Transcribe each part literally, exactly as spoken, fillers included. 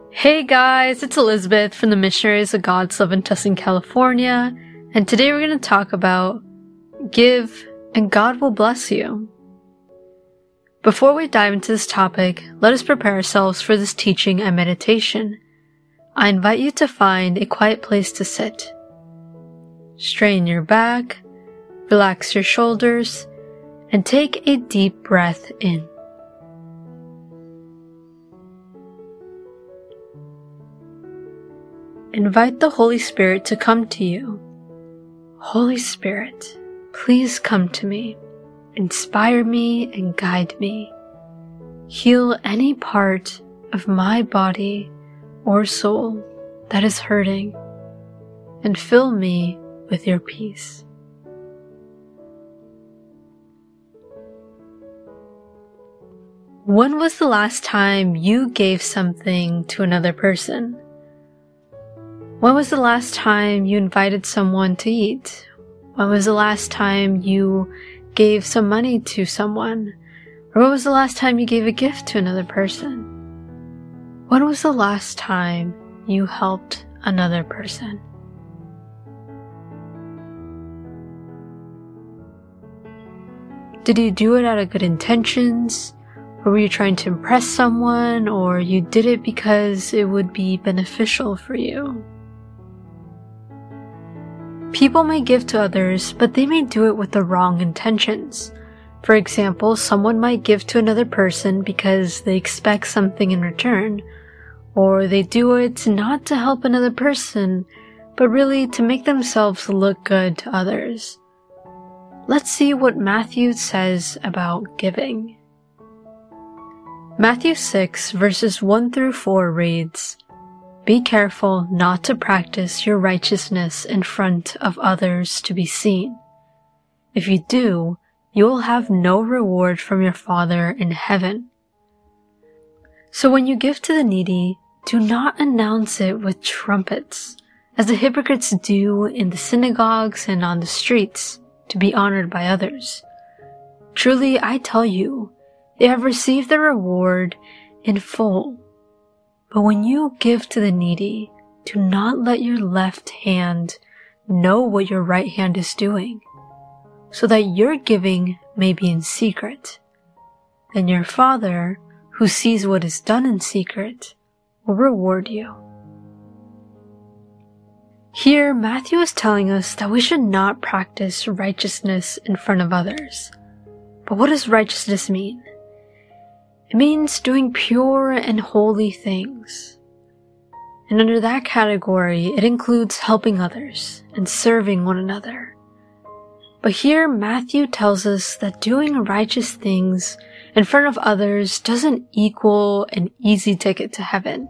Hey guys, it's Elizabeth from the Missionaries of God's Love in Tustin, California, and today we're going to talk about give and God will bless you. Before we dive into this topic, let us prepare ourselves for this teaching and meditation. I invite you to find a quiet place to sit. Straighten your back, relax your shoulders, and take a deep breath in. Invite the Holy Spirit to come to you. Holy Spirit, please come to me. Inspire me and guide me. Heal any part of my body or soul that is hurting, and fill me with your peace. When was the last time you gave something to another person? When was the last time you invited someone to eat? When was the last time you gave some money to someone? Or when was the last time you gave a gift to another person? When was the last time you helped another person? Did you do it out of good intentions? Or were you trying to impress someone? Or you did it because it would be beneficial for you? People may give to others, but they may do it with the wrong intentions. For example, someone might give to another person because they expect something in return, or they do it not to help another person, but really to make themselves look good to others. Let's see what Matthew says about giving. Matthew six verses one through four reads, "Be careful not to practice your righteousness in front of others to be seen. If you do, you will have no reward from your Father in heaven. So when you give to the needy, do not announce it with trumpets, as the hypocrites do in the synagogues and on the streets, to be honored by others. Truly, I tell you, they have received their reward in full. But when you give to the needy, do not let your left hand know what your right hand is doing, so that your giving may be in secret. Then your Father, who sees what is done in secret, will reward you." Here, Matthew is telling us that we should not practice righteousness in front of others. But what does righteousness mean? It means doing pure and holy things. And under that category, it includes helping others and serving one another. But here, Matthew tells us that doing righteous things in front of others doesn't equal an easy ticket to heaven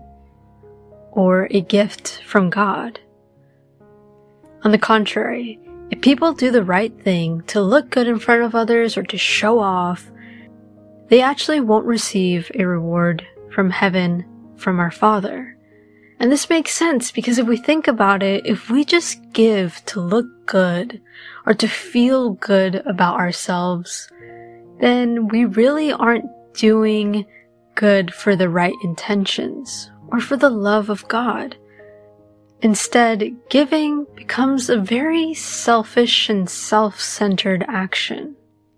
or a gift from God. On the contrary, if people do the right thing to look good in front of others or to show off, they actually won't receive a reward from heaven from our Father. And this makes sense because if we think about it, if we just give to look good or to feel good about ourselves, then we really aren't doing good for the right intentions or for the love of God. Instead, giving becomes a very selfish and self-centered action.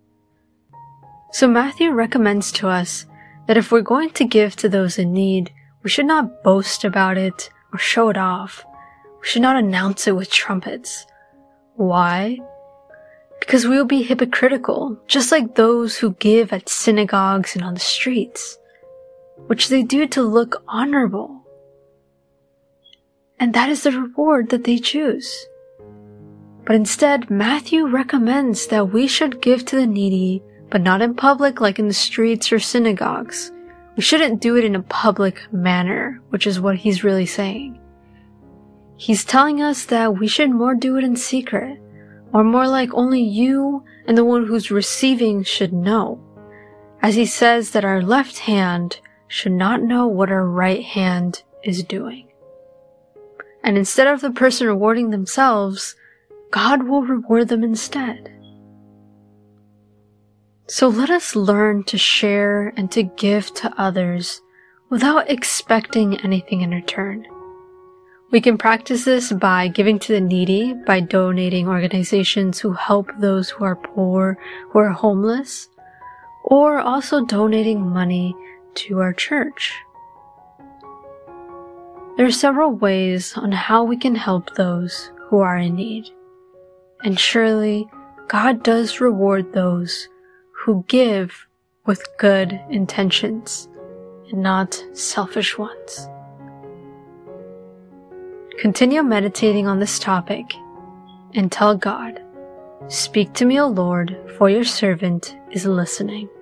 So Matthew recommends to us that if we're going to give to those in need, we should not boast about it or show it off. We should not announce it with trumpets. Why? Because we will be hypocritical, just like those who give at synagogues and on the streets, which they do to look honorable. And that is the reward that they choose. But instead, Matthew recommends that we should give to the needy, but not in public like in the streets or synagogues. We shouldn't do it in a public manner, which is what he's really saying. He's telling us that we should more do it in secret, or more like only you and the one who's receiving should know, as he says that our left hand should not know what our right hand is doing. And instead of the person rewarding themselves, God will reward them instead. So let us learn to share and to give to others without expecting anything in return. We can practice this by giving to the needy, by donating organizations who help those who are poor, who are homeless, or also donating money to our church. There are several ways on how we can help those who are in need. And surely God does reward those who give with good intentions and not selfish ones. Continue meditating on this topic and tell God, "Speak to me, O Lord, for your servant is listening."